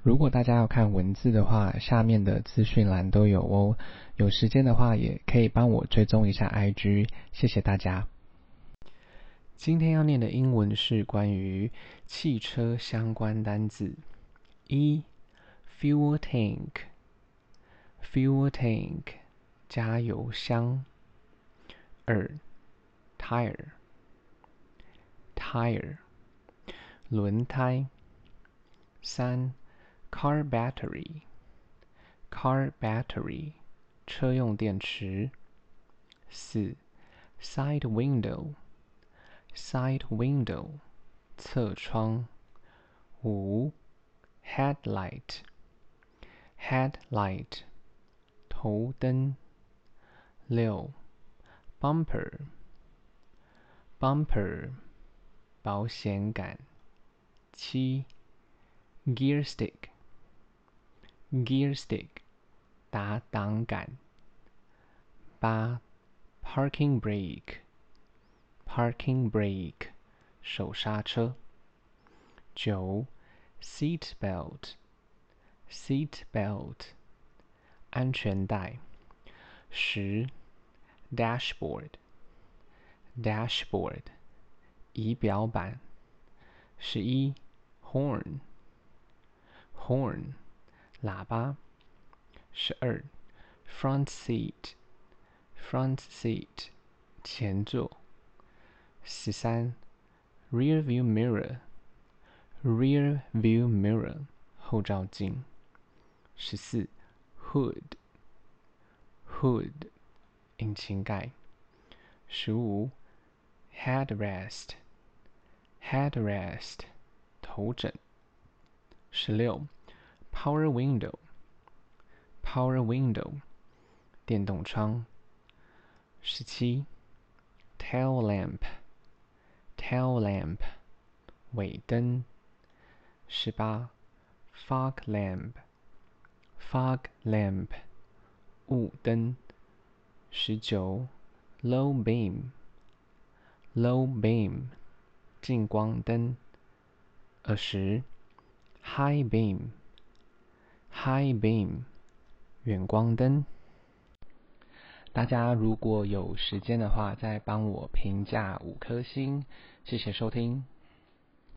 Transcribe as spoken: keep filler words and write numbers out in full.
如果大家要看文字的話，下面的資訊欄都有哦。有時間的話，也可以幫我追蹤一下 I G， 謝謝大家。今天要念的英文是關於汽車相關單字。一 fuel tank fuel tank 加油箱。二 tire tire 輪胎。三 car battery car battery 車用電池。四 side window side window 側窗。五 headlight headlight 頭燈。六 bumper bumper 保險桿。七 gear stick gear stick 打檔桿。八 parking brake parking brake 手剎車。九 seat belt seat belt 安全帶。十 dashboard dashboard 儀表板。十一 horn horn 喇叭。十二 front seat front seat 前座。十三 rear view mirror rear view mirror 後照鏡。十四 hood hood 引擎蓋。十五 headrest headrest 頭枕。十六 power window power window 電動窗。十七 tail lamp tail lamp 尾燈。十八 fog lamp fog lamp 霧燈。十九 low beam low beam 近光燈。二十 high beam high beam 遠光燈。大家如果有時間的話，再幫我評價五顆星，謝謝收聽。